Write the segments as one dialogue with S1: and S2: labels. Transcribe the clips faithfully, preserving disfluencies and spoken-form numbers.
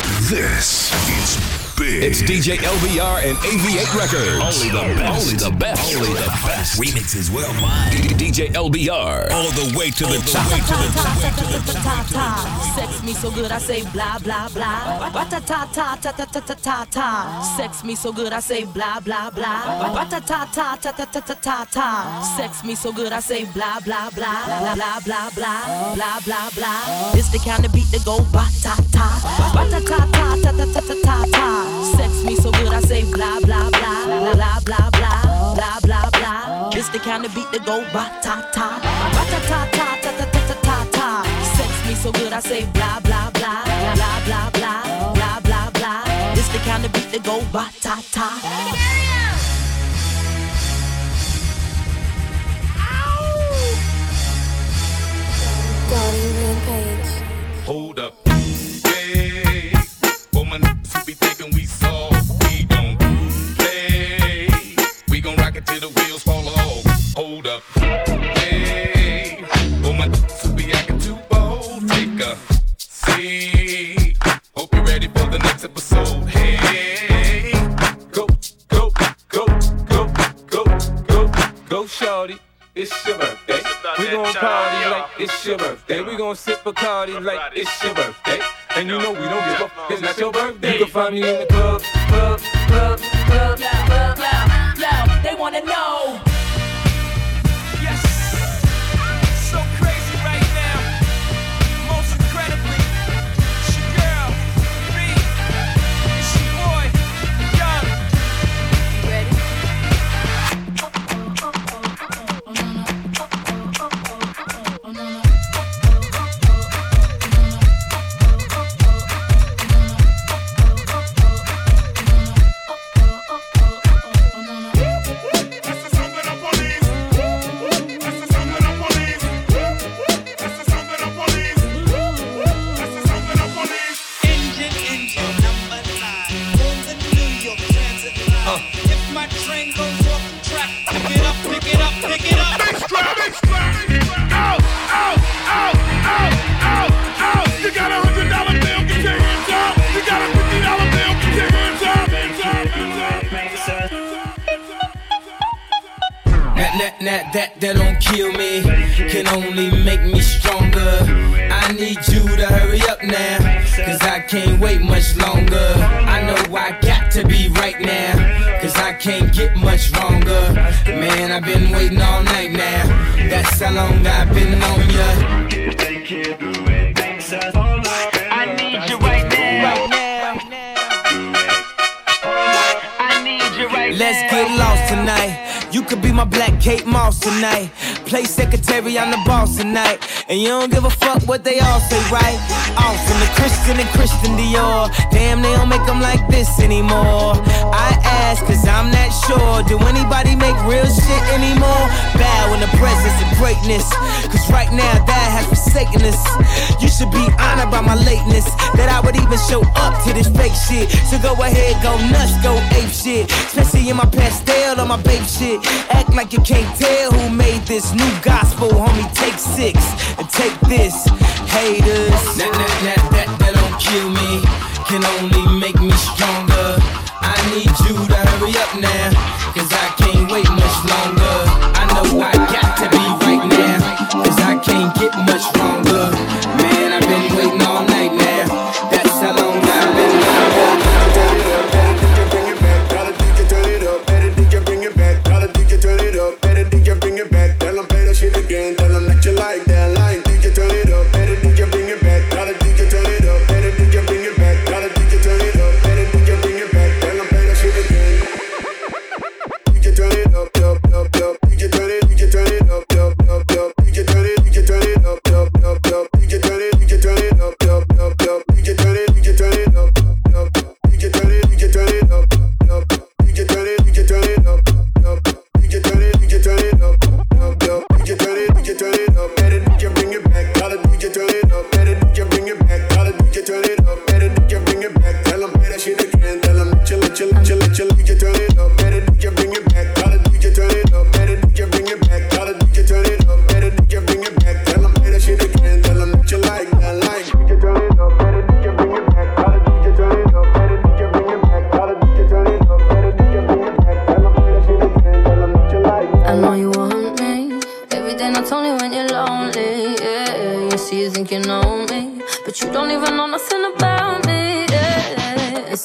S1: This is big.
S2: It's D J L B R and A V eight Records. Only the best. Only the best. Only the best.
S3: Remixes worldwide.
S2: D J L B R.
S3: All the way to the top. Way to the top. Way to the top.
S4: Sex me so good I say blah blah blah. Ba ta ta ta ta ta ta ta ta ta. Sex me so good I say blah blah blah. Ba ta ta ta ta ta ta ta ta ta. Sex me so good I say blah blah blah. Blah blah blah blah blah blah blah. It's the kind of beat that go ba ta ta. Ba ta ta ta ta ta ta ta ta ta. Sex me so good I say blah blah blah. Blah blah blah blah blah blah blah. It's the kind of beat that go ba ta ta. Ba ta ta ta ta ta ta ta ta ta. Sex me so good I say blah blah blah blah blah blah blah blah blah. It's the kind of beat that go ba ta ta.
S5: Donnie Rampage.
S6: Hold up, hey, for my niggas who be thinking we soft, we don't play. We gon' rock it till the wheels fall off. Hold up, hey, for my niggas who be acting too bold, take a seat. Hope you're ready for the next episode. Hey, go, go, go, go, go, go, go, shorty. It's your birthday. We gon' party like it's your birthday. We gon' sip Bacardi like it's your birthday. And you know we don't give up. It's not your birthday. You can find me in the club, club, club, club, club, club.
S4: Yo, they wanna know.
S7: Yes, so crazy right now. Most incredibly, it's your girl, me, it's your boy, Young. You ready?
S8: That, that, that don't kill me, can only make me stronger. I need you to hurry up now, cause I can't wait much longer. I know I got to be right now, cause I can't get much longer. Man, I've been waiting all night now, that's how long I've been on ya.
S9: If they can't do it, makes us all right.
S7: I need you right now. I need you right now.
S8: Let's get lost tonight. You could be my black Kate Moss tonight. Play secretary, I'm the boss tonight. And you don't give a fuck what they all say, right? Awesome, the Christian and Christian Dior. Damn, they don't make them like this anymore. I ask, cause I'm not sure. Do anybody make real shit anymore? Bow in the presence of greatness, cause right now that has forsaken us. You should be honored by my lateness, that I would even show up to this fake shit. So go ahead, go nuts, go ape shit. Especially in my pastel or my babe shit. Act like you can't tell who made this new gospel, homie. Take six and take this, haters. That, that, that, that, that don't kill me, can only make me stronger. I need you to hurry up now, cause I can't wait much longer. I know I got to be right now, cause I can't get much longer. Man, I've been waiting all night now, that's how long I've been waiting.
S10: Like that line, D J turn it up, better D J bring it back, gotta D J turn it up.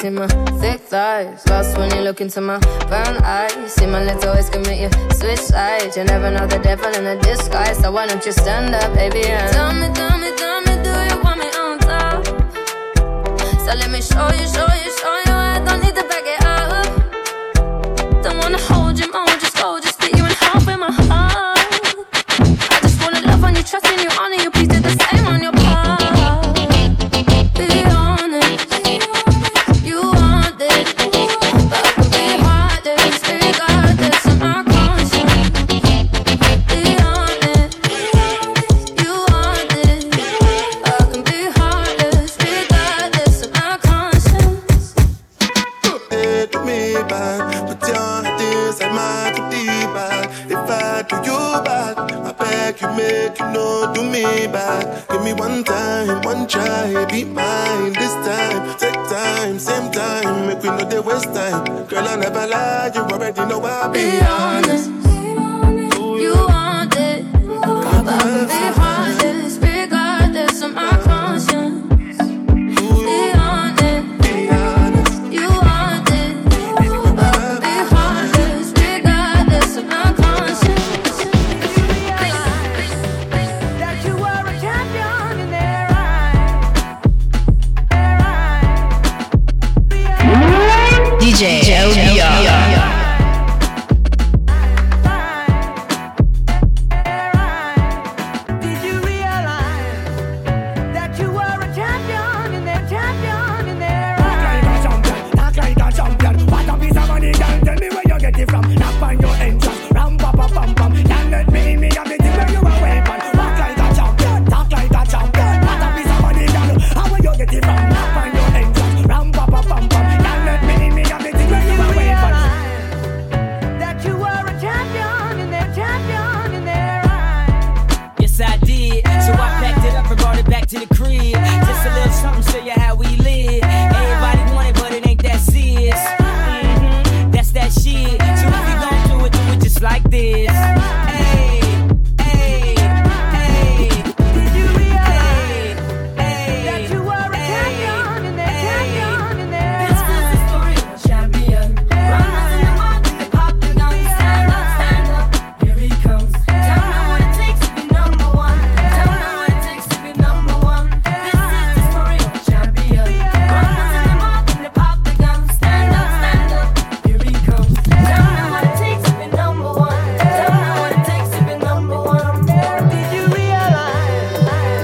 S5: see my thick thighs. Lost when you look into my brown eyes. See my lips always commit you switch sides. You never know the devil in a disguise. So why don't you stand up, baby, and tell me, tell me, tell me, do you want me on top? So let me show you, show you, show you. I don't need to back it up. Don't wanna hold you more, just go, just split you in half with my heart. I just wanna love on you, trust in you, honor you, please do the same on your part. Be honest, you want this, but I can be heartless, regardless of my conscience. Be honest, you want this, but I can be heartless, regardless of my conscience.
S10: Hit me back, put your hand inside my goodie bag. If I do you bad, I beg you make you know do me bad. Give me one time, one try, be mine this time. Take time, same time, make we know they waste time. Girl, I never lie, you already know I'll be, be honest.
S5: honest. You want it, but I can be heartless, regardless of my conscience. Be honest,
S10: be honest.
S5: You want it, but I can be heartless, regardless of my conscience.
S3: That you were a champion in their eyes. Their eyes.
S4: D J Joe Dion.
S3: Did you realize that you were a champion in their champion in their eyes?
S11: Talk like a champion. What a piece of money, girl. Tell me where you get it from. Knock on your entrance. Ram pa pa pam pam. Can't let me in me have the thing where you a weapon. Walk like a champion. Talk like a champion. What a piece of money, girl. How where you get it from? Knock on your entrance. Ram pa pa pam pam. Can't let me in me have the thing where you a weapon.
S3: That you were a champion in their champion in their eyes.
S8: Yes, I did. So I packed it up and brought it back to the crib. Just a little something, show you how we live. Everybody want it, but it ain't that serious. Mm-hmm, that's that shit. So if you gon' do it, do it just like this. Hey, hey, hey.
S3: Did you realize
S8: Hey,
S3: that you were a champion in their champion in their
S5: This
S3: eyes?
S5: is the story of a champion. Runners in the market, they pop the gun. Stand up, stand up, here he comes. Don't know what it takes to be number one. Don't know what it takes to be number one. This is the story of a champion. Runners in the market, they pop the gun. Stand up, stand up, here he comes. Don't know what it takes to be number one. Don't know what it takes to be number one.
S3: Did you realize?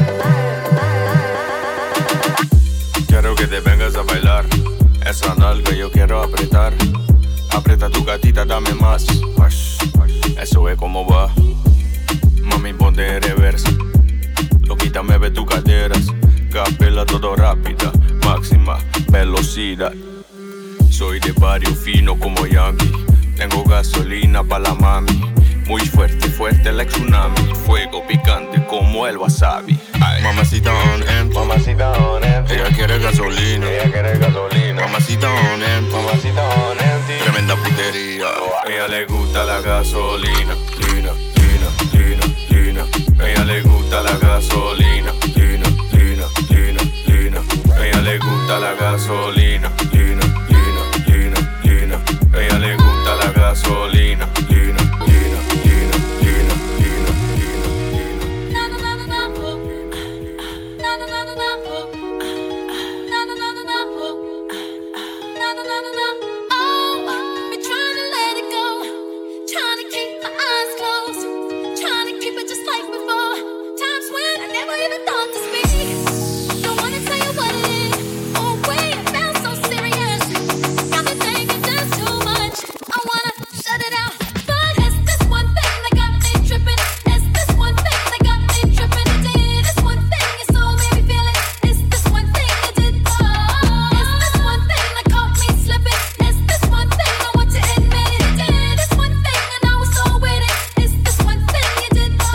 S12: Quiero que te vengas a bailar. Esa nalga yo quiero apretar. Aprieta tu gatita, dame más. Eso es como va. Mami, ponte en reversa. Loquita, me ve tus caderas. Capela todo rápida. Máxima velocidad. Soy de barrio fino como Yankee. Tengo gasolina pa' la mami. Muy fuerte, fuerte like tsunami. Fuego picante como el wasabi. Ay. Mamacita on end, mamacita on end. Ella quiere gasolina, ella quiere gasolina. Mamacita on end, mamacita on end. Tremenda putería. Ella le gusta la gasolina, lina, lina, lina, lina. Ella le gusta la gasolina, lina, lina, lina, lina. Ella le gusta la gasolina, lina, lina, lina, lina. Ella le gusta la gasolina, lina, lina, lina, lina, lina, lina.
S5: Na na na na na, na na na na na, na na na na na, na na na na na. Oh, been trying to let it go, trying to keep my eyes closed, trying to keep it just like before. Times when I never even thought to speak. Don't wanna tell you what it is. Oh wait, it felt so serious. Got me thinking just too much. I wanna shut it out, but it's this one thing that got me tripping. It's this one thing that got me tripping. Did this one thing you so made me feel it. It's this one thing you did. Oh, it's this one thing that caught me slipping. It's this one thing I want to admit it. Did this one thing and I was so with it. It's this one thing you did. Oh,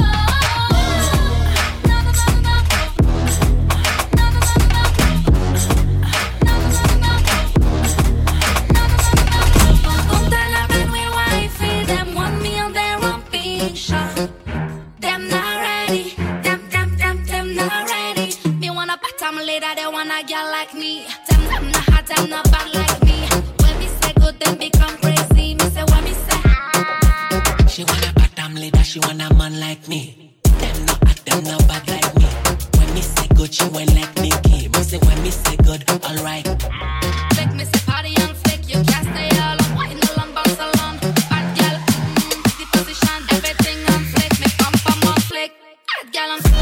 S5: na na na na na, na na na na na, na na na na na. Contra la red with wifey, them want me on their own picture. Them not ready, them, them, them, them not ready. Me wanna bottom later, they wanna girl like me. Them, them not hot them not bad like me. When me say good, them become crazy. Me say when me say.
S13: She want a bottom leader, she want a man like me. Them not hot, them not bad like me. When me say good, she went like Nicki. Me say when me say good, alright.
S5: Make me say party and flick, you can't stay all on. Wine along, bounce along. Bad girl, mm, the position, everything on flick. Me pump pump on flick. Bad girl on flick.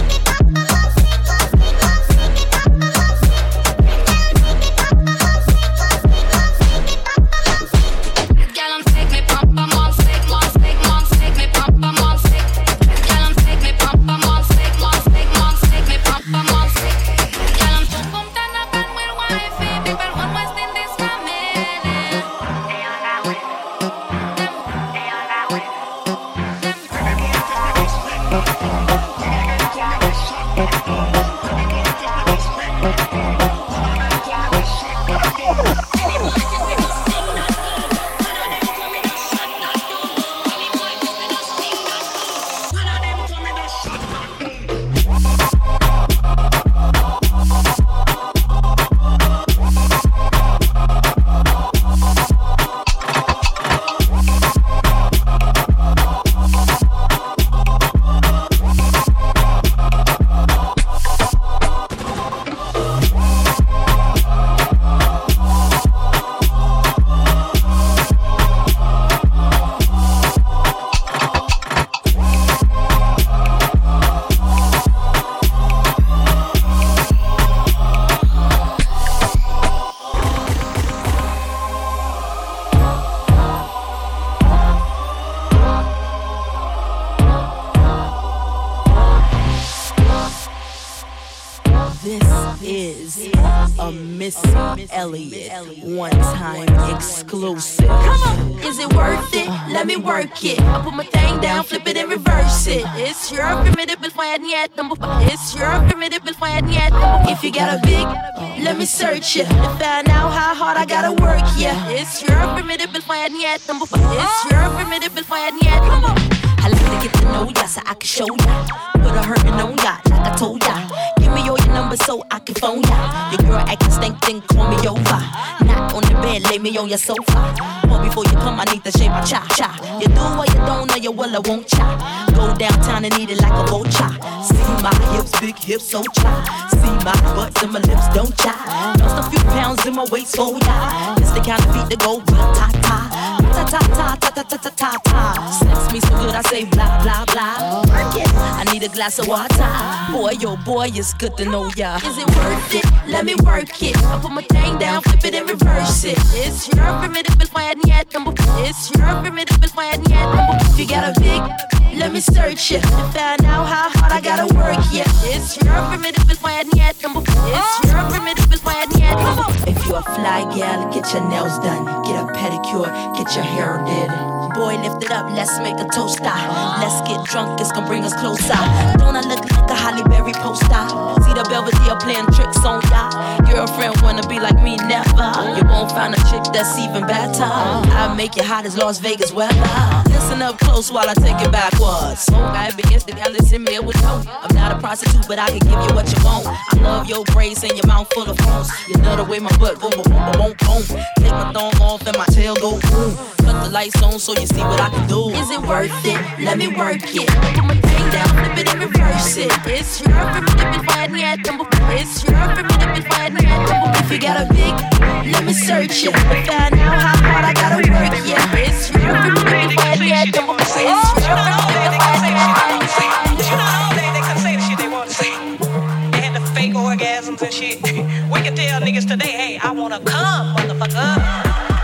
S4: Elliott, one time exclusive. Come on, is it worth it? Let me work it. I put my thing down, flip it and reverse it. It's your formidable fan yet. It's your formidable fan yet. If you got a big, let me search it to find out how hard I gotta work. Yeah, it's your formidable fan yet. It's your formidable fan yet. Come on. I like to get to know ya so I can show ya. Put a hurtin' on ya like I told ya. Give me all your numbers so I can phone ya. Your girl acting stink, then call me over. Not on the bed, lay me on your sofa. But before you come, I need to shave my cha cha. You do or you don't, or you will or won't cha. Go downtown and eat it like a vulture. See my hips, big hips, so cha. See my butts and my lips, don't cha. Lost a few pounds in my waist, oh ya. It's the kind of beat that go ta ta. Ta ta ta ta ta ta ta ta ta. Sex me so good I say blah blah blah. Work it. I need a glass of water. Boy, yo boy, it's good to know ya. Is it worth it? Let me work it. I put my thing down, flip it and reverse it. It's your formidable fan yet. It's your formidable fan yet. If you got a big, let me search it to find out how hard I gotta work. Yeah, it's your formidable fan yet. It's your formidable fan yet. If you a fly gal, get your nails done, get a pedicure, get your hair did. Boy, lift it up, let's make a toaster. Let's get drunk, it's gonna bring us closer. Don't I look like a Halle Berry poster? See the Belvedere playing tricks on ya. Girlfriend wanna be like me, never. You won't find a chick that's even better. I make it hot as Las Vegas weather. Listen up close while I take it backwards. Smoke, I be against the gal that's in me with you. I'm not a prostitute, but I can give you what you want. I love your braids and your mouth full of phones. You love the way my butt go boom, boom, boom, boom. Take my thong off and my tail go boom. Cut the lights on so you see what I can do. Is it worth it? Let me work it. Put my thing down, flip it and reverse it. It's your formidable fan yet. It's your formidable fan yet. If you got a big, let me search it to find out how hard I gotta work. Yeah, it's your formidable fan yet. It's your formidable fan yet.
S14: You know all day they can say the shit they want to say. They had the fake orgasms and shit. We can tell niggas today, hey, I wanna come, motherfucker.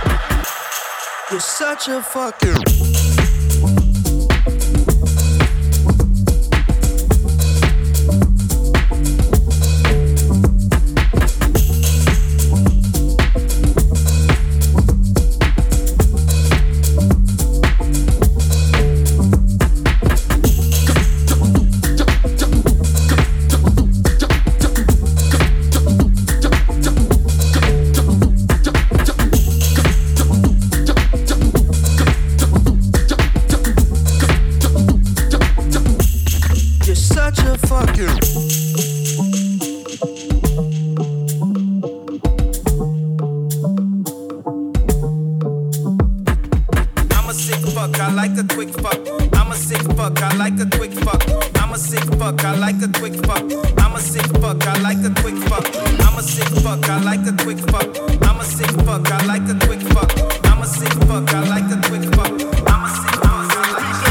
S15: You're such a fucking.
S8: quick fuck. I'm a sick fuck, I like the quick fuck. I'm a sick fuck, I like the quick fuck. I'm a sick fuck, I like the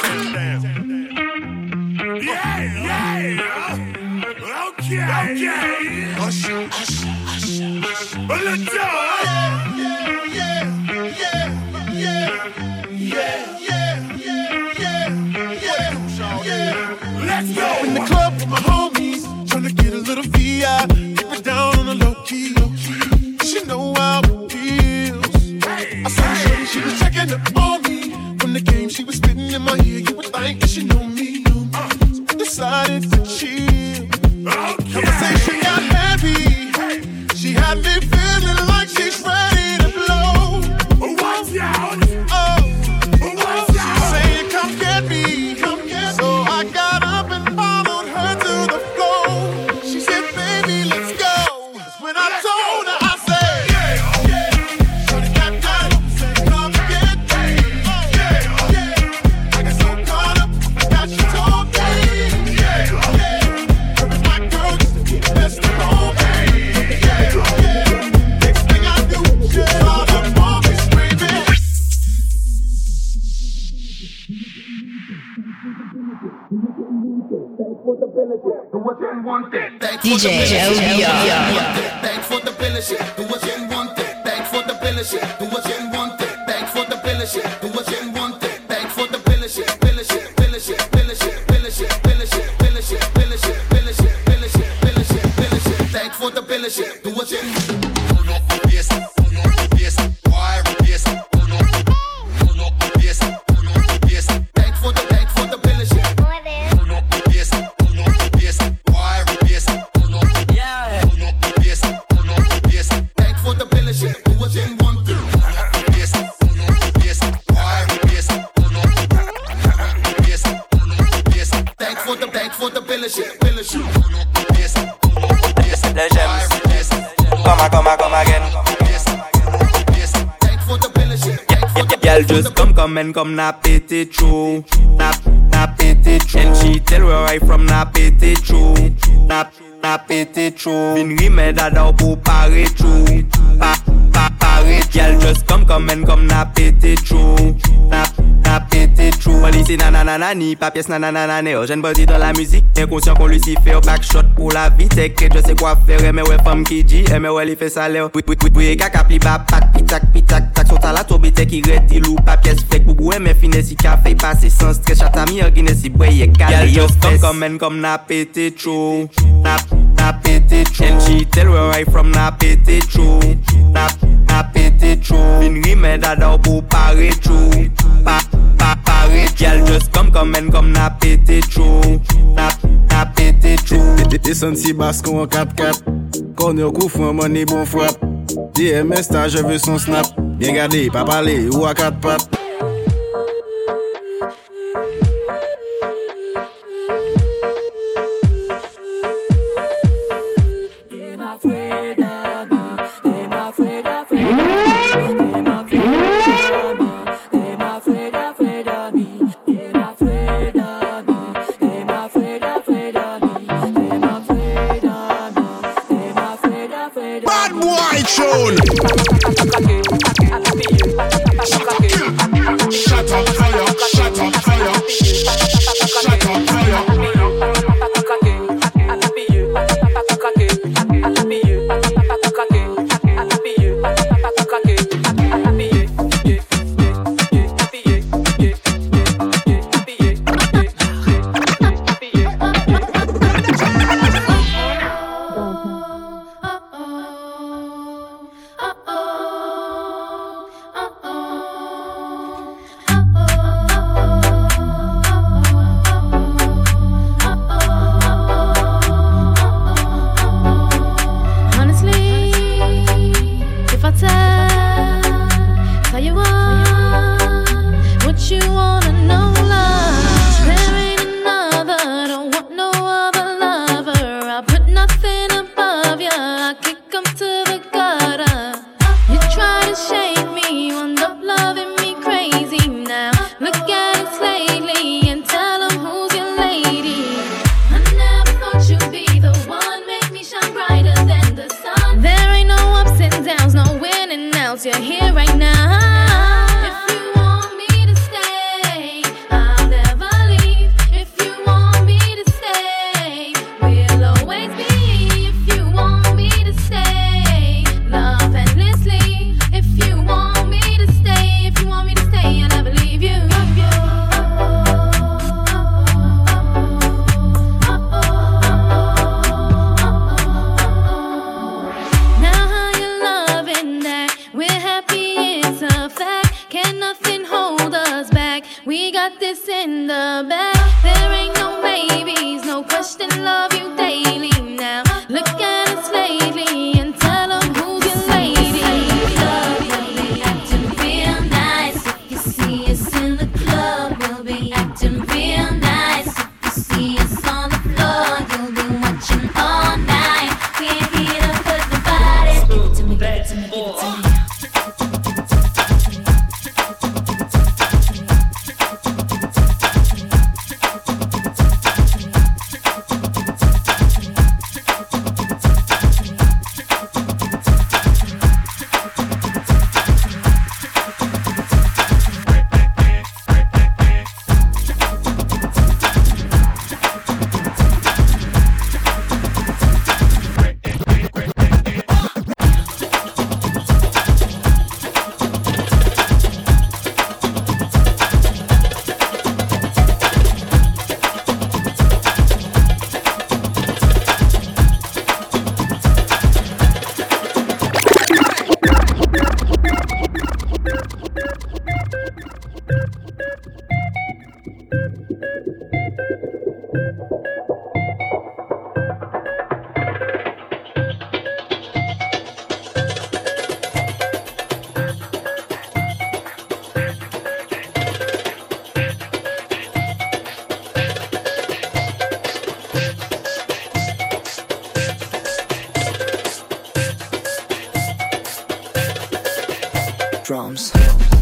S16: Yeah, yeah. Okay, okay. Hush, hush, hush, hush. Well, let's go. Yeah, yeah, yeah, yeah, yeah, yeah, yeah, yeah, yeah. Let's go. In the club with my homies, tryna get a little V I. Keep it down on the low key, low key. She know how it feels. I saw her, she was checking up on me. From the game, she was spitting in my ear. You would think that she knew me. Uh, so I decided to chill. Okay. Conversation got heavy. She had me feeling like she's ready to blow. Watch out! Oh, watch out! She's saying, "Come get me, come get me." So I got up and followed her to the floor. She said, "Baby, let's go." When I told her, I said, "Yeah, yeah." Shorty got down, said, "Come get me." Oh, yeah, yeah. I got so caught up, I got you told me. Yeah, yeah. Her and my girl used to be the best of all, baby. Yeah, yeah. Next thing I knew, she saw the mom be screaming.
S17: D J L B R.
S18: Thanks for the bill shit. Do what you want. Thanks for the bill shit. Do what you want. Thanks for the bill shit. Do what you want. Thanks for the bill shit. Bill shit. Bill shit. Bill shit. Bill shit. Bill shit. Bill shit. Bill shit. Bill shit. Bill shit. Bill shit. Bill shit. Thanks for the bill shit. Do what you want. Turn up the bass. Turn up the bass. Wire bass. Turn up. Turn up the bass. Turn up the bass. Thanks for the thanks for the bill shit. Turn up the bass. Turn up the bass. Wire bass. Turn up.
S8: Yeah.
S18: Turn up the bass. Turn up the bass. Thanks for the bill shit. Do what you want. Turn up the bass. Turn up the bass. Wire bass. Turn up. Turn up the bass. Turn up the bass. Thanks for the thanks for the bill shit. Bill shit. Turn up the bass. Turn up the bass.
S8: Les Gems. Come on, come on, come again.
S18: Thanks for the bill shit. Thanks for the
S8: Girl just come, come and come na pété true. Na, na pété true. And she tell where I from na pété true. Na, na pété true. Vin rime dada pou pare true. Pa, pa, pare. Girl just come, come and come na pété true. Na, na pété true. On lycée nanana ni pas pièce nanana né. Jeune body dans la musique, inconscient qu'on lui s'y fait au backshot pour la vie. T'es que je sais quoi faire, mais ouais femme qui dit, mais ouais il fait ça l'air. Oui, oui, oui, oui, kaka pli ba pat pitak pitak tak sota la tobe te qui reti lou pas pièce fait boubou mais fine si café passer sans stress chata mi guiné si boye calé yo come come and come na pété true. Na, na pété true. And she tell where I from na pété true. Na, na pété true. Vin rime dada pour pare true. Pa, pa, pare. Girl just come come and come na pété true. Na, na pété true.
S19: Descend si basse en quatre quatre. Corner coup fou money bon frappe. D M S ta je veux son snap. Bien gardé, pas parler ou à quatre pattes.
S16: Bad boy tune. Shut up, fire. Shut up, fire. Shut up, fire.
S5: got this in the bag. There ain't no babies, no question, love you daily now. Look at us lately and tell them who's your lady. Club, we'll be acting real nice. If you see us in the club, we'll be acting real nice. If you see us on the floor, you'll be watching all night. We ain't here to put the body. Give it to me, give it to me, give it to me.
S15: Drums.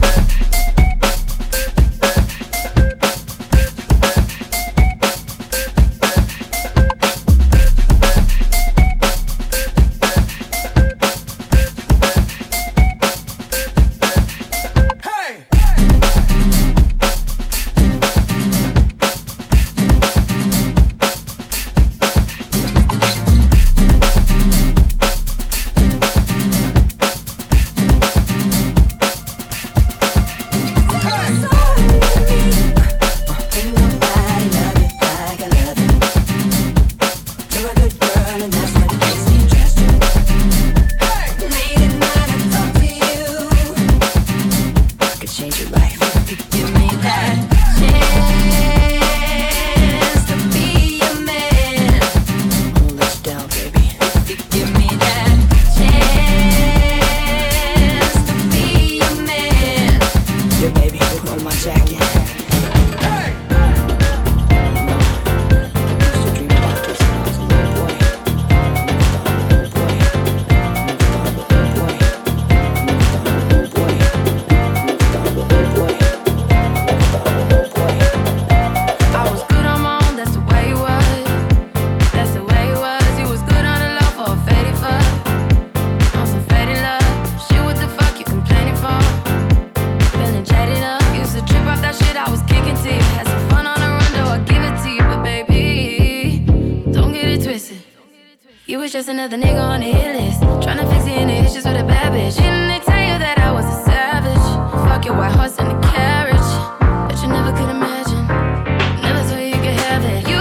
S5: Just another nigga on the hit list. Tryna fix any issues with a bad bitch. Didn't they tell you that I was a savage? Fuck your white horse and the carriage. But you never could imagine. Never thought you could have it. You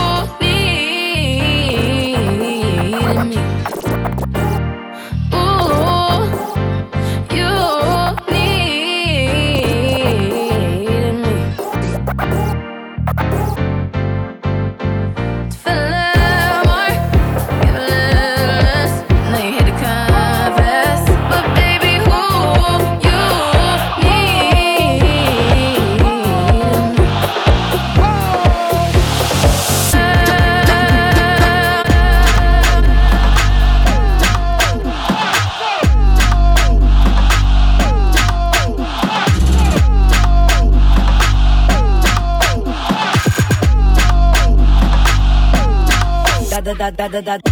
S5: needed me. Ooh, you needed me. To feel love more. Give a little less. Now you hit the confess. But baby, who you
S15: Da da da da da.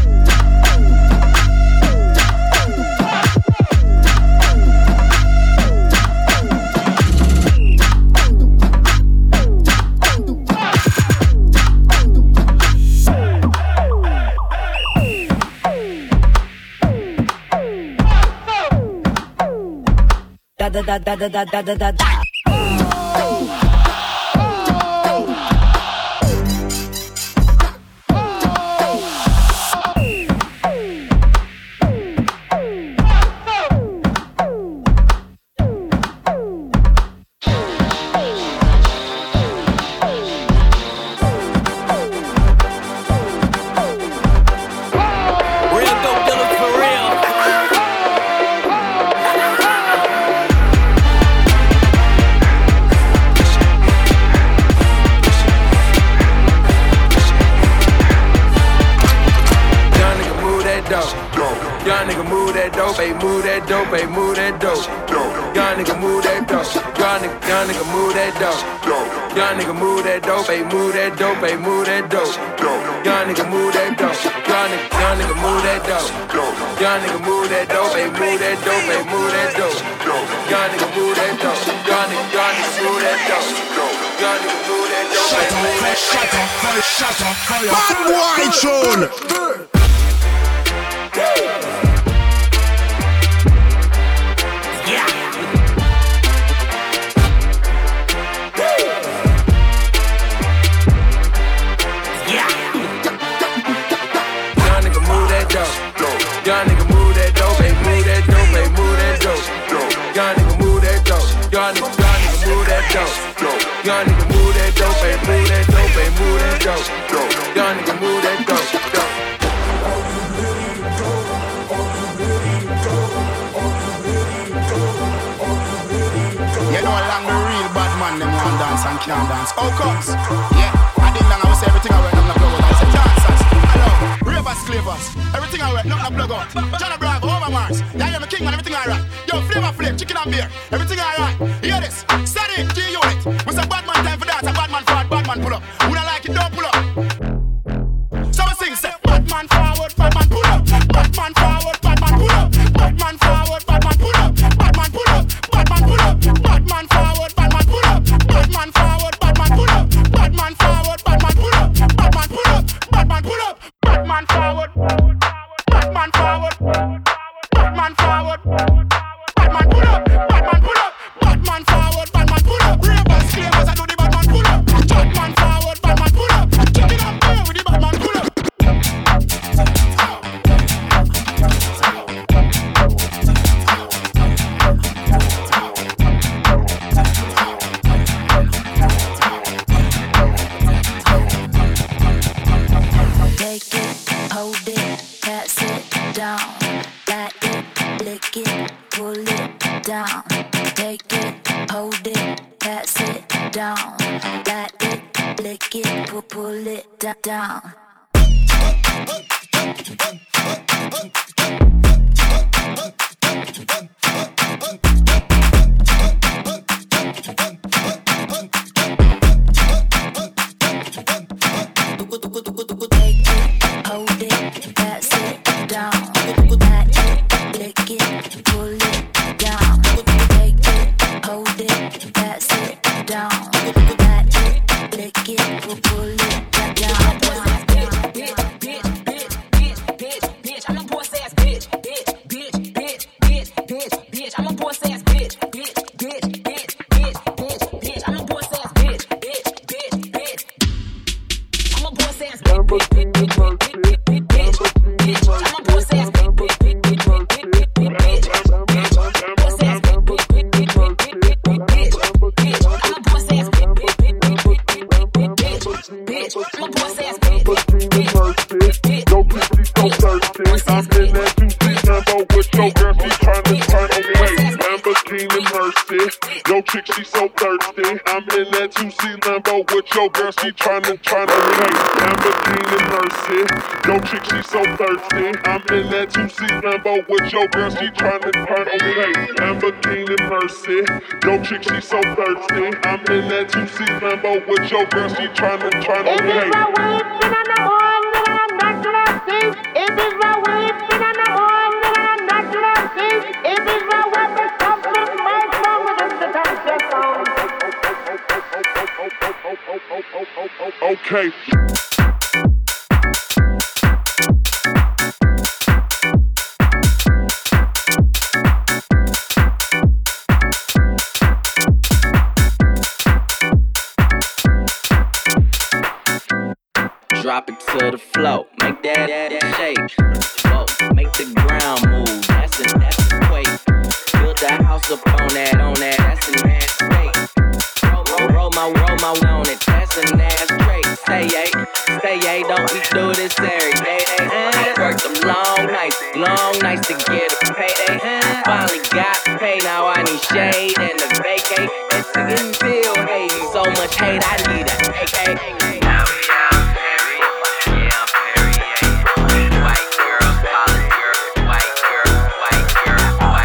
S15: Da da da da da da da da.
S20: move that dope, hey, move that dope. Young nigga move that dope. Young nigga, young nigga move that dope. Young nigga move that dope, hey, move that dope, hey, move that dope. Young nigga move that dope. Young nigga, young nigga move that dope. Young nigga move that dope, hey, move that dope, hey, move that dope. Young nigga move that dope. Young nigga, young nigga move that dope. Young nigga move that dope, hey, move that dope.
S16: Shut up, fire, shut up, fire. Bad boy tune.
S20: Young nigga move that dope, hey, move that dope, hey, move that dope. Young nigga move that dope. Young nigga, young nigga move that dope. Young nigga move that dope, hey, move that dope, hey, move that dope. Young nigga move that dope.
S19: You know along the real bad man, them want dance and can't dance. How comes? Yeah, I didn't know I was everything I went on the floor. I said dancers, hello, ravers, clavers, everything I went, nothing I plug out. John Bravo, over Mars, yeah, you're my king man, everything alright. Yo, flavor flip, chicken and beer, everything alright. Hear this, steady, G-Unit. We say bad man time for dance, a bad man forward, bad man pull up. Who don't like it, don't pull up. So I sing, say, bad man forward, bad man pull up. Bad man forward, bad man pull up. Bad man forward, bad man pull up. Bad man pull up, bad man pull up. Bad man forward, bad man pull up. Bad man forward, bad man pull up. Bad man forward, bad man pull up. Bad man pull up, bad man pull up. Bad man forward, bad man forward. Bad man forward, bad man pull up. Bad man pull up, bad man forward, bad man pull up. Ravers, clavers, I do the bad man pull up. Bad man forward, bad man pull up. Check it up there with the bad man pull up.
S5: Take it, hold it, pass it down. Let it, lick it, pull it down. Take it, hold it, pass it down. Let it, lick it, pull, pull it da- down. Hold it, pass it down. Let it, lick it, pull it down. Take it, hold it, pass it down. Let it, lick it, pull, pull it down.
S4: Bitch, bitch, bitch, bitch, bitch, bitch, I'm a boss ass bitch, bitch, bitch, bitch, bitch, bitch, bitch, I'm a boss ass bitch, bitch, bitch, bitch, bitch, bitch, bitch, I'm a boss ass bitch, bitch, bitch, bitch, I'm a boss ass bitch, bitch, bitch, bitch, bitch, bitch, bitch, bitch, I'm a boss ass bitch, bitch, bitch, bitch, bitch, bitch, bitch, bitch, bitch, boss ass bitch, bitch, bitch, bitch, bitch, bitch, bitch, bitch, I'm a boss ass bitch, bitch, bitch, bitch, bitch, bitch, bitch, bitch, bitch, I'm a boss ass bitch.
S16: Yo, people so thirsty. I'm in that juicy Lambo with your girl, she tryna turn away. Lamborghini Mercy. Yo, chick, she so thirsty. I'm in that juicy Lambo with your girl, she tryna turn away. Lamborghini Mercy. Yo, chick, she so thirsty. I'm in that juicy Lambo with your girl, she tryna turn away. Lamborghini Mercy. Yo, chick, she so thirsty. I'm in that juicy Lambo with your girl, she tryna turn away.
S3: If it's my way, then I know all that I'm not gonna see. If it's my weapon, something might wrong with us to touch your phone.
S16: Okay.
S8: Drop it to the floor, make that, that, that shake. Whoa, make the ground move, that's a, that's a quake. Build the house up on that, on that, that's an ass state. Roll, roll, roll my, roll my on it, that's an ass trait. Say yay, say yay, don't we do this every day? I worked them long nights, long nights to get a payday. Finally got paid, now I need shade and a vacate. It's getting feel hate, so much hate, I need a A K. White girl, white girl, white girl, white girl.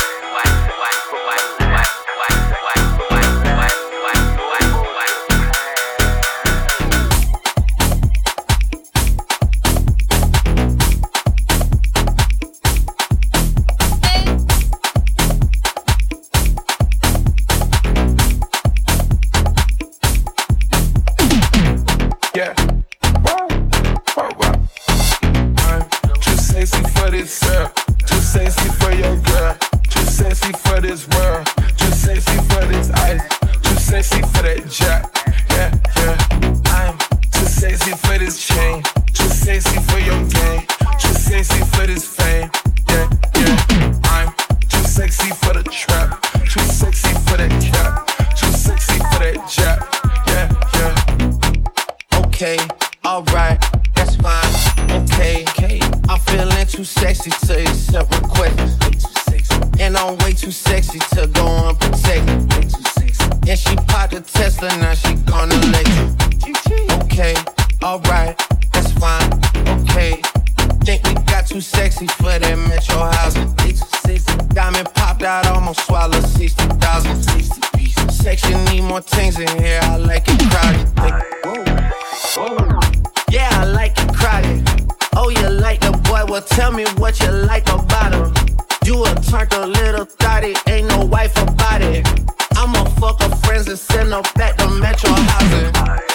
S20: sexy for this world, too sexy for this ice, too sexy for that jack. Yeah, yeah. I'm too sexy for this chain, too sexy for your game, too sexy for this fame. Yeah, yeah. I'm too sexy for the trap, too sexy for that cap, too sexy for that jack. Yeah, yeah.
S8: Okay, alright, that's fine. Okay, okay. I'm feeling too sexy to accept requests. And I'm way too sexy to go unprotected. And she popped a Tesla, now she gonna let you. Okay, alright, that's fine. Okay, think we got too sexy for that metro housing. Diamond popped out, almost swallowed sixty thousand. Section need more things in here, I like it crowded. Yeah, I like it crowded. Oh, you like the boy? Well, tell me what you like about him. You a turned a little thotty, ain't no wife about it. I'ma fuck her friends and send her back to metro housing.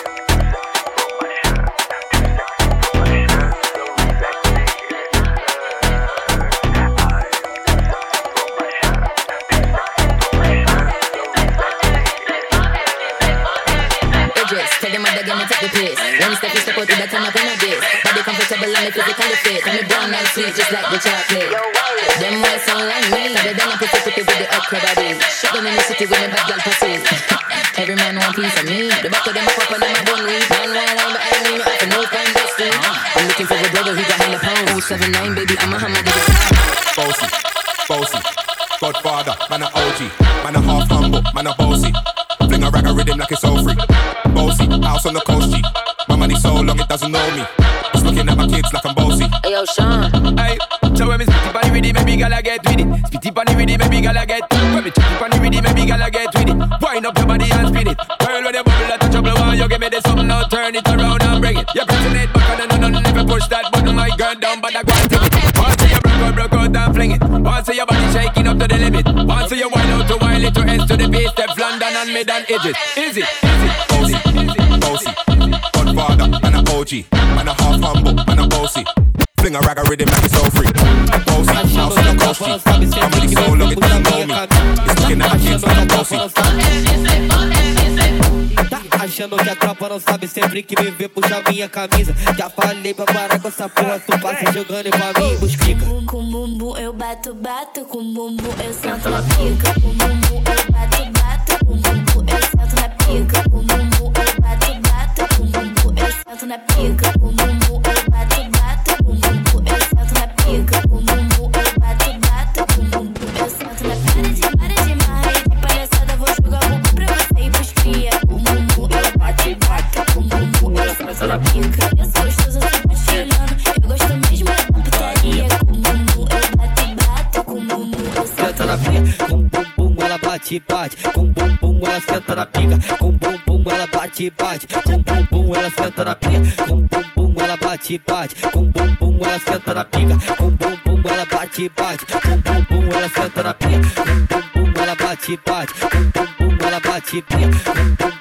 S21: Tell them what they're gonna take the piss. One step you step out with that turn up in a bit. Body comfortable and me physically fit. And me brown and sweet just like the chocolate. Them white sound like me. They done a pretty pretty with the upgrade bodies. Shut down in the city with me bad girl passes. Every man want piece of me. The back of them a pop and them a bun weed. Man wine wine but I ain't no up and no fine dusty. I'm looking for a brother who got hella pound. Oh seven nine baby I'm a hammer.
S22: Bossy, bossy, Godfather, man a O G, man a half humble, man a bossy. Fling a rag a rhythm like it's all free. Bossy, house on the coast G. My money so long it doesn't know me. It's looking at my kids like I'm bossy.
S21: Hey yo Sean.
S20: Hey, so when me spitty bunny with it, maybe gala get with it. Spitty bunny with it, maybe gala get. When me chitty bunny with it, maybe gala get with it. Wind up your body and spin it. Girl when you bubble like a trouble one, you give me this something now, turn it around and bring it. You pressing it back and no no never push that button, my girl down, but I go and take it. Once you broke out, broke out and fling it. Once your body shaking up to the limit. Once you wind out to wild it to ends to the base, step London and mid and edges. Is it? Is it?
S22: Bossy, bossy, Godfather, man a O G, man a half humble, man a bossy. Fling a rag a rhythm like it's all free. Bossy, house on the coast G. My money so long it doesn't know me. It's looking at my kids like I'm bossy.
S23: Tá achando que a tropa não sabe, sempre que me vê puxa minha camisa. Já falei pra parar com essa porra, tu passa jogando e pra mim busquica.
S5: Com bumbum eu bato, bato, com bumbum eu sento na pica. Com bumbum eu bato, bato, com bumbum eu sento na pica. Com bumbum eu bato, bato, com bumbum eu sento na pica. Com bumbum eu bato, bato, com bumbum eu sento na pica. Com bumbum eu bato, bato, com bumbum eu sento na pica. Para de, para de marrer, de palhaçada, vou jogar o bumbum pra você e busquia. Com bumbum eu bato, bato, com bumbum eu sento na pica. Eu sou gostosa, sempre tirando, eu gosto mesmo da putaria. Com bumbum eu bato, bato, com bumbum eu sento na pica.
S23: Com bumbum ela bate, bate, com bumbum ela senta na pica. Com bumbum ela bate, bate, com bumbum ela senta na pica. Com bumbum ela bate, bate, com bumbum ela senta na pica. Com bumbum ela bate, bate, com bumbum ela senta na pica. Com bumbum ela bate, bate, com bumbum ela bate, pica.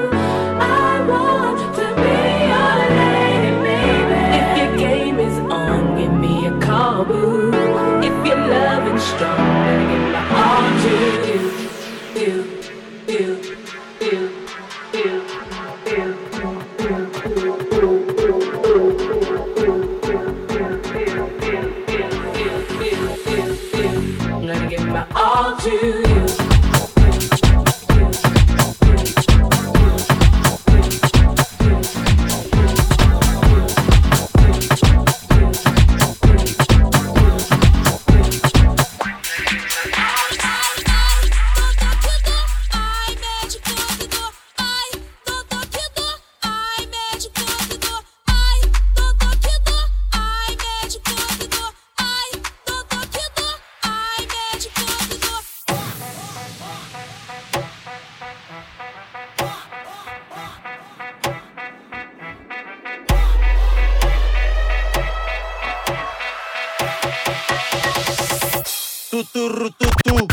S4: On
S1: tuturututu.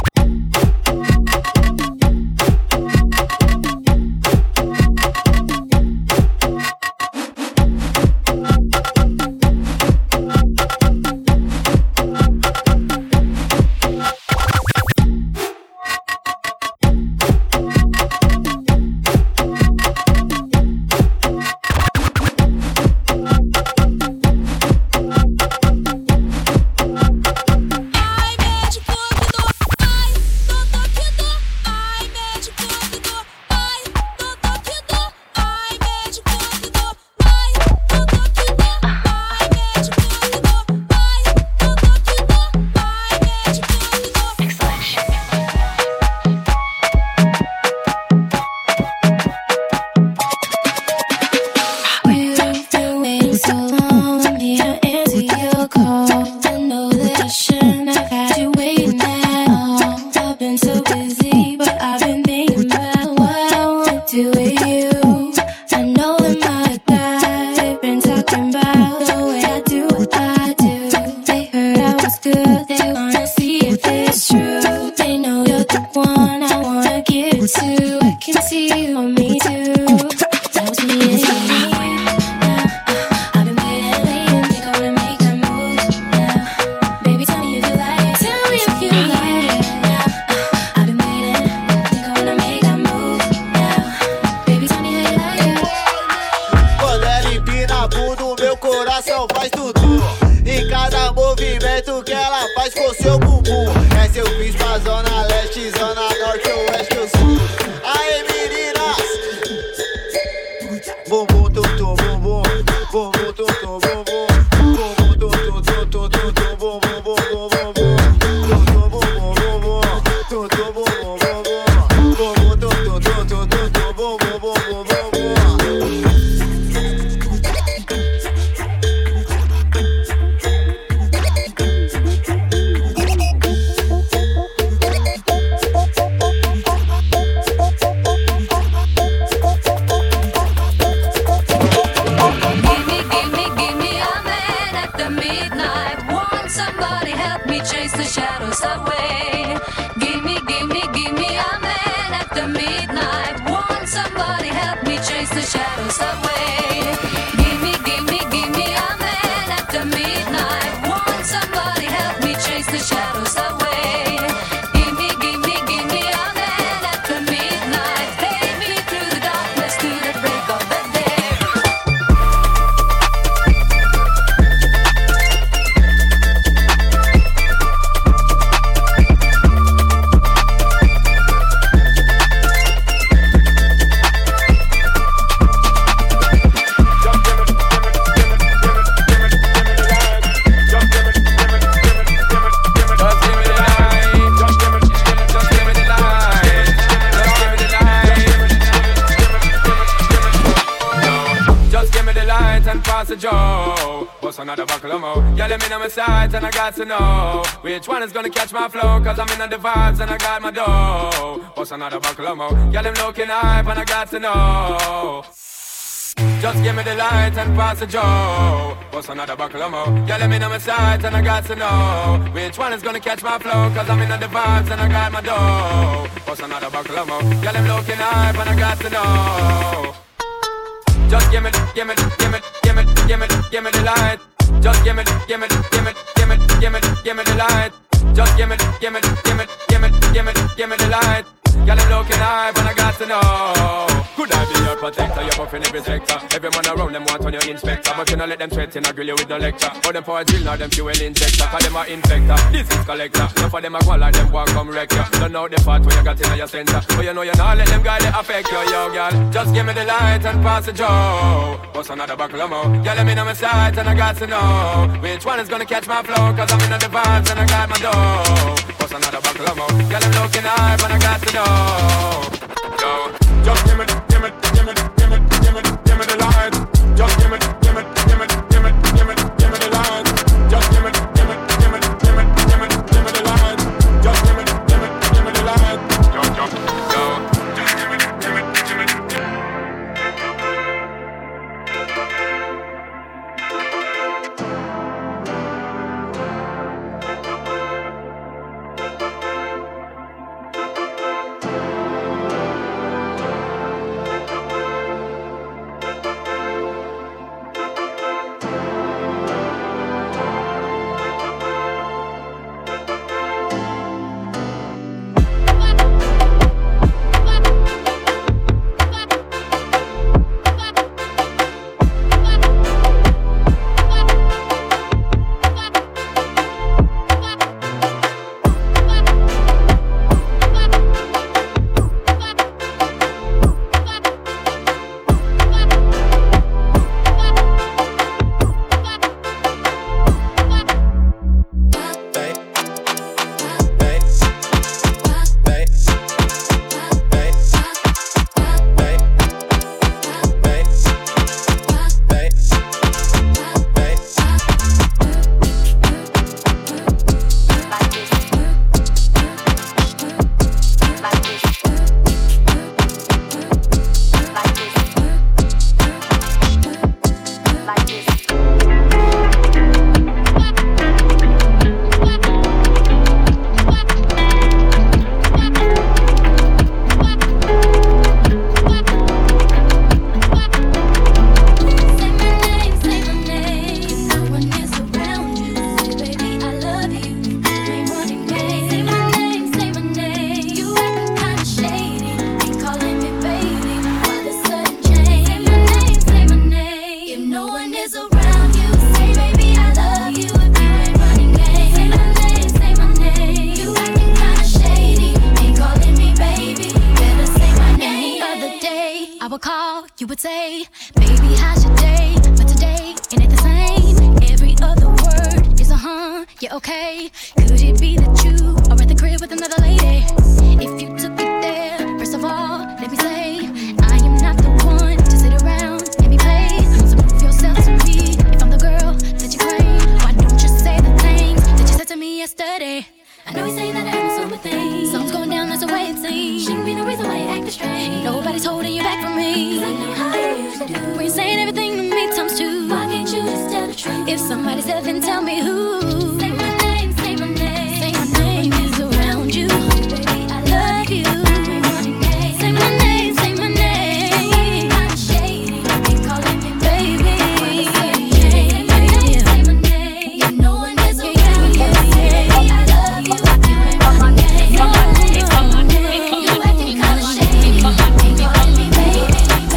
S20: To know which one is gonna catch my flow, cause I'm in the vibes and I got my dough. What's another buckle of mo? Yeah, them looking hype and I got to know. Just give me the light and pass the joe. What's another buckle of mo? Yeah, let me know my sight and I got to know which one is gonna catch my flow, cause I'm in the vibes and I got my dough. What's another buckle of mo? Yeah, them looking hype and I got to know. Just give me, give me, give me, give me, give me, give me the light. Just give me, give me, give me, give me, give me, give me the light. Just give me, give me, give me, give me, give me, give me the light. Girl, I'm looking high, but I got to know. Could I be your protector? You're buffing every sector. Every man around them want on your inspector, but you not let them threaten or grill you with no lecture. Or them for a drill, now them fuel injector. Cause them are infector, disease collector. Enough of them a go like them want come wreck you. Don't know the part where you got in your center, but you know you not let them guys they affect you, yo, girl. Just give me the light and pass the joe. What's another buckle of mo? Girl, let me know my sight and I got to know which one is gonna catch my flow, cause I'm in the vibes and I got my dough. What's another buckle of mo? Girl, I'm looking high, but I got to know. Yo, just give me, give me, give me, give me, give me, give me the light. Just give me, give me, give me, give me, give me, give me the light. Just give me, give me, give me, give me, give me, give me the light. Just give me, give me, give me the light. Yo, yo, yo, just give me, give me, give me.
S5: say, baby, how's your day? But today, it ain't the same. Every other word is a huh, yeah, okay. Could it be that you are at the crib with another lady? If you took it there, first of all, let me say, I am not the one to sit around and be played. So prove yourself to me, if I'm the girl that you claim. Why don't you say the things that you said to me yesterday? I know you say that I am so with things. Something's going down, that's the way it seems. Shouldn't be no reason why you acting strange. Nobody's holding you back from me. 'Cause I know how you usually do. When you're saying everything to me times two. Why can't you just tell the truth? If somebody said, then tell me who. Say my name, say my name. Say my name is around you. Baby, I love you. Say my name, say my name. I'm shady. They calling me baby. Say my name, say my name. You know one is around you. I love you. You ain't my name. You acting kinda shady. They calling me baby.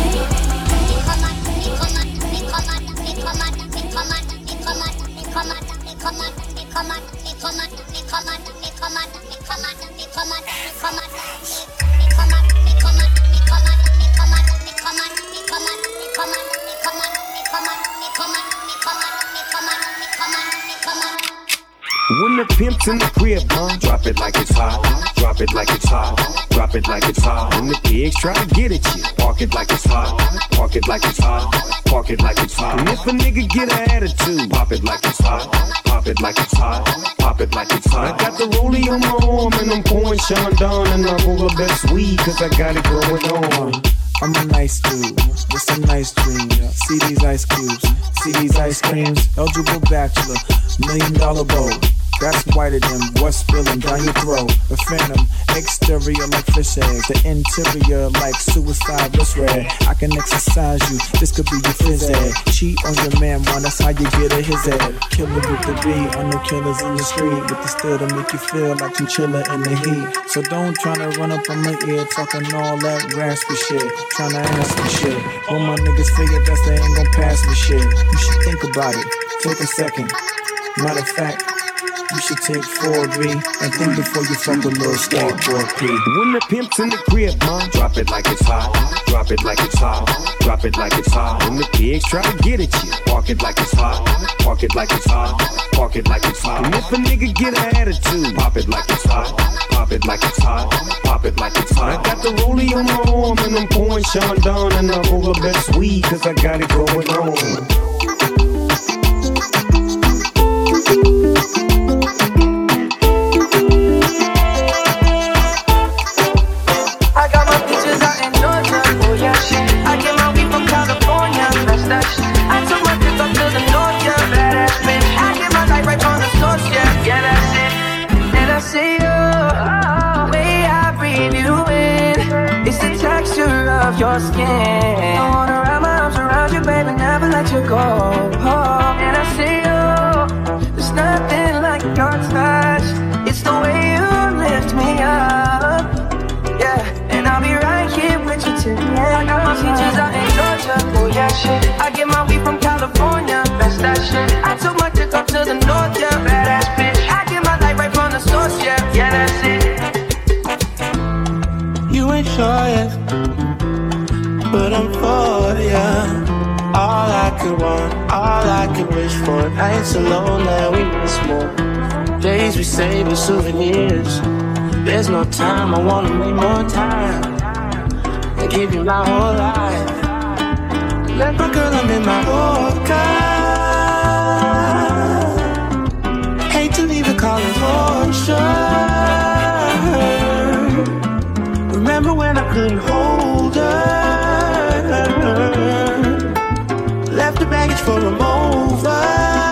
S1: When the pimp's in the crib, huh? Drop it like it's hot. Drop it like it's hot. Drop it like it's hot. When the pigs try to get at you, park it like it's hot. Park it like it's hot. Park it like it's hot. And if a nigga get an attitude, pop it like it's hot. Pop it like it's hot. Pop it like it's hot. I got the rollie on my arm and I'm pouring Sean down and I roll the best weed cause I got it going on.
S2: I'm a nice dude with some nice dreams. See these ice cubes, see these ice creams. Eligible bachelor, million dollar bowl. That's whiter than what's spilling down your throat. The phantom, exterior like fish eggs. The interior like suicide wrist red. I can exercise you, this could be your phys ed. Cheat on your man, man, that's how you get a his head. Killer with the B, on the killers in the street. With the still to make you feel like you chillin' in the heat. So don't tryna run up on my ear, talking all that raspy shit. Tryna ask me shit. When my niggas figure that they ain't gon' pass me shit. You should think about it, take a second. Matter of fact, you should take four B and think before you fuck a little skateboard P.
S1: When the pimp's in the crib, huh? Drop it like it's hot. Drop it like it's hot. Drop it like it's hot. When the pigs try to get at you, park it like it's hot. Park it like it's hot. Park it like it's hot. And if a nigga get an attitude, pop it like it's hot. Pop it like it's hot. Pop it like it's hot. I got the rollie on my arm and I'm pouring Sean down and I roll the best weed cause I got it going on.
S3: Your skin. I wanna wrap my arms around you, baby, never let you go. Oh, and I see you. There's nothing like your touch. It's the way you lift me up. Yeah, and I'll be right here with you till the end. I got my peaches out in Georgia. Oh yeah, shit. I get my weed from California. That's that shit. I took my chick up to the north, yeah. Badass bitch. I get my light right from the source, yeah. Yeah, that's it.
S2: You ain't sure yet, but I'm for ya. All I could want, all I could wish for. Nights alone that we miss more. Days we save as souvenirs. ThereThere's no time, I wanna make more time and give you my whole life. Let my girl, I'm in my Yorker. Hate to leave it, call it torture. Remember when I couldn't hold her? Left the baggage for a mover.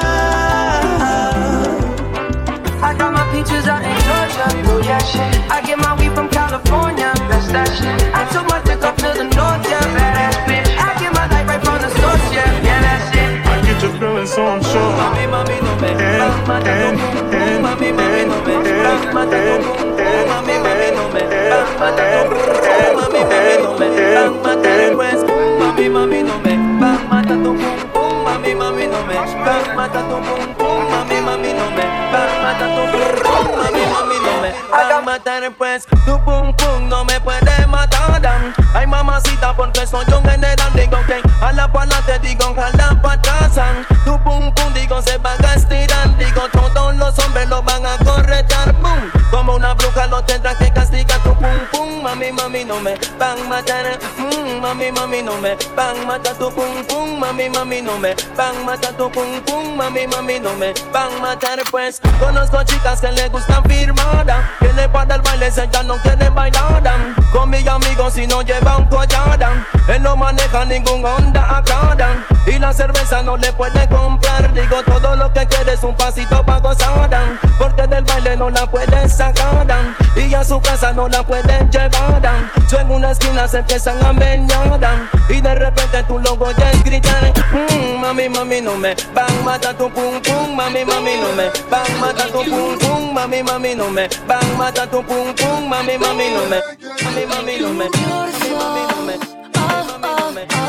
S3: I got my peaches out in Georgia, oh yeah shit. I get my weed from California, that's that shit. I took my dick up to the north, yeah, badass bitch. I get my light right from the source, yeah, yeah, that's it.
S2: I get your feeling, so I'm sure.
S3: Mami, mami, no me, mami, mami, mami, no me, mami, mami, no me, mami, mami, no me, mami, mami, no me, mata tu pum pum, mami, mami, no me, mata tu pum pum, mami, mami, no me, mata tu pum pum, mami, mami, no me, va a matar pues, tu pum pum no me puede matar, dan.
S6: Ay mamacita, porque soy un general, digo que a la pala te digo jala pa' atrás. Tu pum pum digo se van a estirar, digo todos los hombres lo van a corretar, boom. Como una bruja lo tendrás que castigar tu pum pum. Mami, mami, no me van a matar, mm, mami, mami, no me van a matar tu pum pum. Mami, mami, no me van a matar tu pum pum. Mami, mami, no me van a matar, pues conozco chicas que le gustan firmadas, que le para el baile se ya no quieren bailar. Con mis amigos si no llevan collar, él no maneja ningún Honda Accord, y la cerveza no le puede comprar. Digo todo lo que quiere es un pasito pa' gozar, porque del baile no la puede sacar, y a su casa no la pueden llevar. Yo en una esquina se empiezan a meñar, y de repente tú lo oyes gritar, mmm, mami, mami, no me van a matar tu pum pum. Mami, mami, no me van a matar tu pum pum. Mami, mami, no me van a matar tu pum pum. Mami, mami, no me, mami, mami, no me, mami, mami, no me, mami, mami, no me.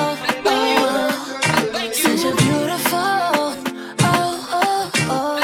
S5: Since you're beautiful, oh, oh, oh.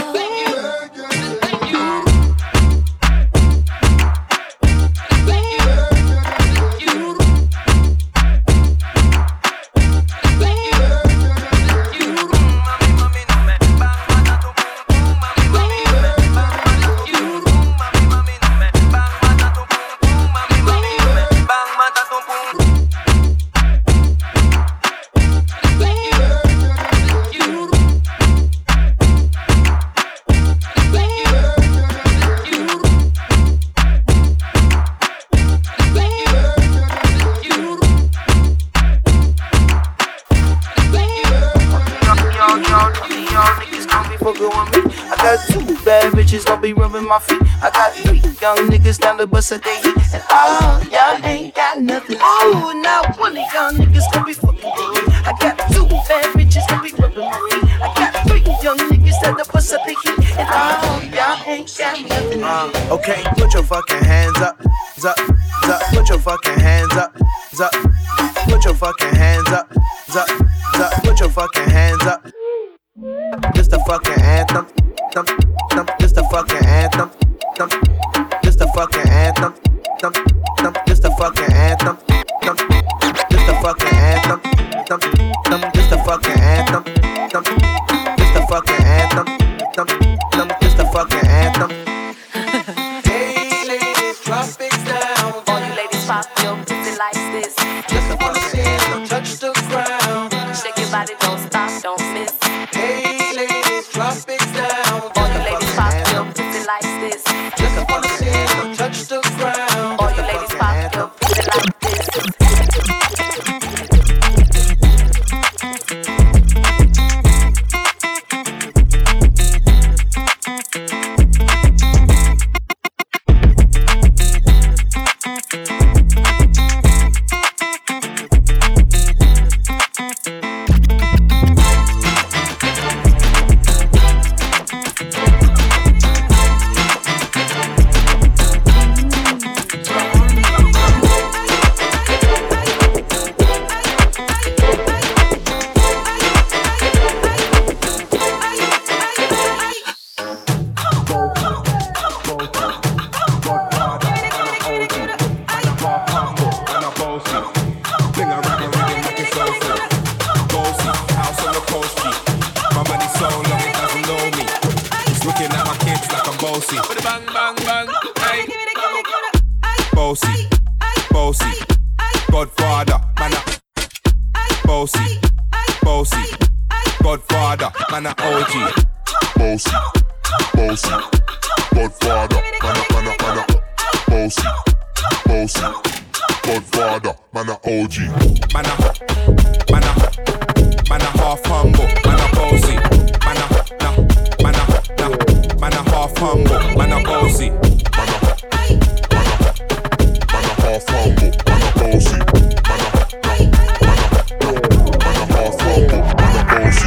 S6: Gon' be rubbing my feet. I got three young niggas down the bus at they heat, and all y'all ain't got nothing. Ooh, now one of y'all niggas gon' be fucking with me. I got two bad bitches gon' be rubbing my feet. I got three young niggas down the bus at they heat, and all y'all ain't got nothing. Uh, okay, put your fucking hands up, up, up. Put your fucking hands up, up. Put your fucking hands up, up, up. Put your fucking hands up. This the fucking anthem. Thump, thump, this the fucking anthem. Thump, this the fucking anthem. Thump, thump, this the fucking anthem. Thump, this the fucking anthem. Thump, thump, this the fucking anthem. Thump, this the fucking anthem. Thump, thump, this the fucking anthem. Hey ladies, drop it down.
S21: All you ladies pop your pussy like this.
S6: Just wanna see you touch the ground.
S21: Shake your body, don't stop, don't miss.
S6: Hey ladies, drop it down.
S21: All you ladies pop your pussy like this.
S6: Just wanna see you touch the ground.
S21: All you ladies pop your pussy like this.
S22: Bossy, bossy, Godfather, man a bossy, bossy, Godfather, man a O G.
S7: Bossy, bossy, Godfather, man a man a man a bossy, bossy, Godfather, man a O G.
S22: Man a, man a, man a half humble, man a bossy, man a, na, man a, na, man a half humble, man a bossy.
S7: Half humble, man a bossy. Man a, man a, man a, man a half humble, man a bossy.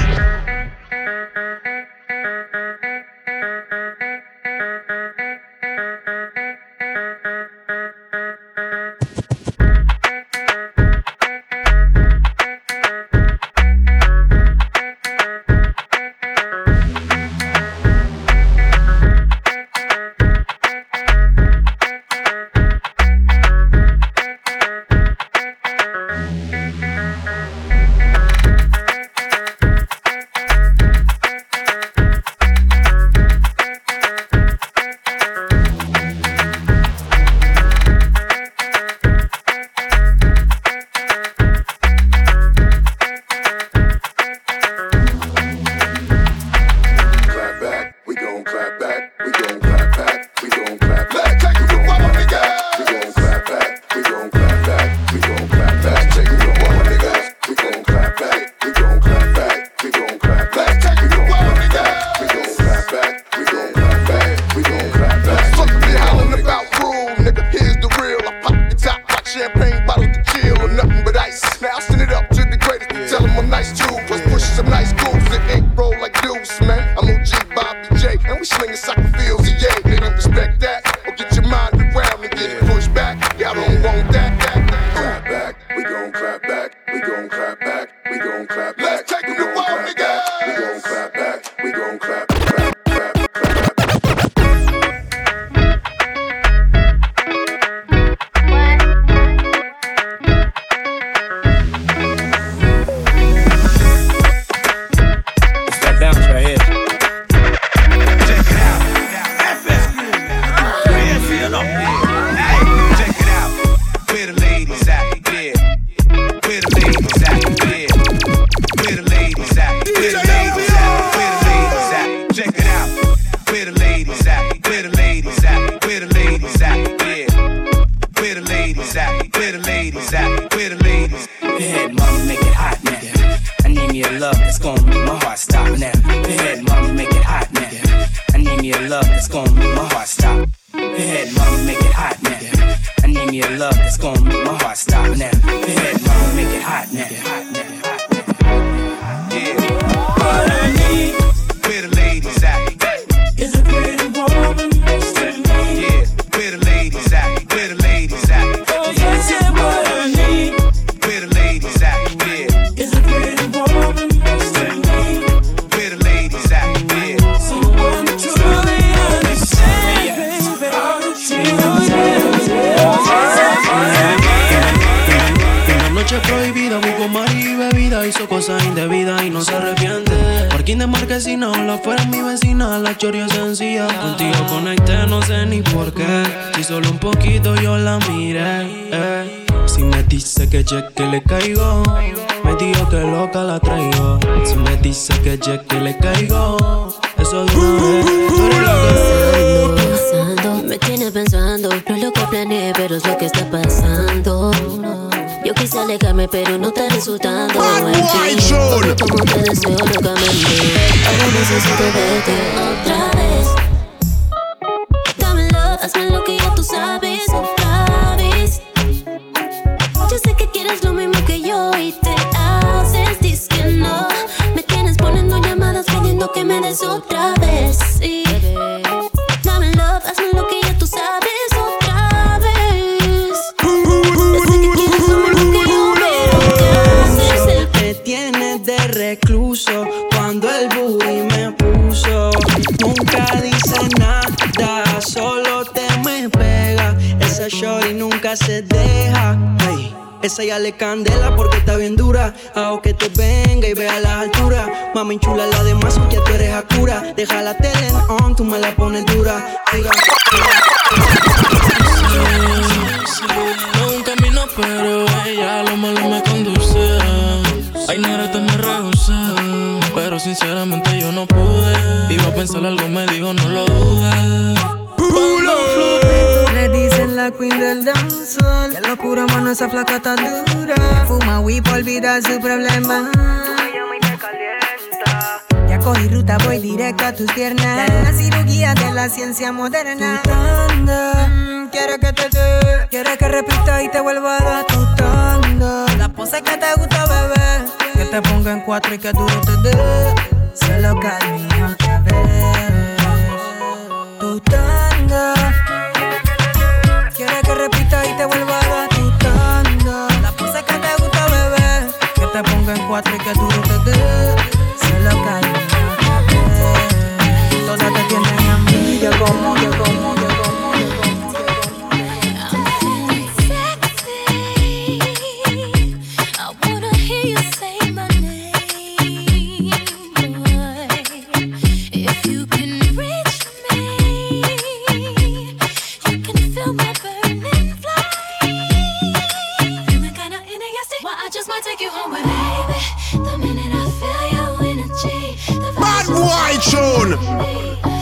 S8: me a love that's gonna make my heart stop. Go ahead, mama, make it hot now. I need me a love that's gonna make my heart stop now. Go ahead, mama, make it hot now.
S9: Yeah. What I need, where the ladies at?
S16: Is a pretty woman next to me.
S9: Yeah, where the ladies at? Where the ladies at?
S16: Oh, yes, yeah, what I need.
S9: Where the ladies at? Yeah.
S16: Is a pretty woman next to me.
S9: Where the ladies at? Yeah.
S16: Someone truly understand, baby, all the tears.
S10: Una noche prohibida, buscó mar y bebida, hizo cosas indebidas y no se arrepiente. Parking de marquesina, la fuera mi vecina, la choria sencilla. Contigo conecté, no sé ni por qué. Si solo un poquito yo la miré. Eh. Si me dice que che que le caigo, me dijo que loca la traigo. Si me dice que che que le caigo, eso de una vez. Tú eres la que
S21: Pensando, me tiene pensando, no es lo que planeé, pero es lo que está pasando. Yo quise alejarme, pero no está resultando. Porque como te deseo locamente, ahora necesito verte otra vez. Dame love, hazme lo que ya tú sabes otra vez. Yo sé que quieres lo mismo que yo y te haces, dices que no. Me tienes poniendo llamadas pidiendo que me des otra vez. Sí. Dame love, hazme lo que ya tú sabes otra vez. Yo sé que quieres lo mismo que yo, pero ¿qué haces?
S10: me tienes de recluso cuando el booty me puso. Nunca dice nada, solo te me pega. Esa shorty nunca se deja. Ay, esa ya le candela porque está bien dura. Hago que te venga y vea las alturas. Mami chula, la de más ya tú eres Hakura. Deja la tele on, tú me la pones dura. Diga,
S2: no un camino, pero ella lo malo me conduce. Ay, negra, te me rehusé, pero sinceramente yo no pude. Iba a pensar algo, me dijo, no lo dudes.
S11: Le dicen la queen del danzón. Qué locura, mano, esa flaca tan dura. Fuma weed pa' olvidar su problema. Ya cogí ruta, voy directo a tus piernas. La cirugía de la ciencia moderna. Tu tanda, mm, quiero que te dé. Quiero que repita y te vuelva a dar tu tanda. La pose que te gusta, bebé. Que te ponga en cuatro y que duro te dé. Solo camino otra vez. Tu tanda. Quiero que repita y te vuelva a dar tu tanda. La pose que te gusta, bebé. Que te ponga en cuatro y que duro te dé. Solo camino otra vez. Todas te tienen a mí. Yo como, yo como, yo como, yo como, yo como.
S5: I wanna hear you say my name, boy. If you can reach me, you can feel my burning flame. Feeling kinda interesting. Well, I just might take you home with me, baby. The minute I feel your energy, the
S19: Bad boy tune.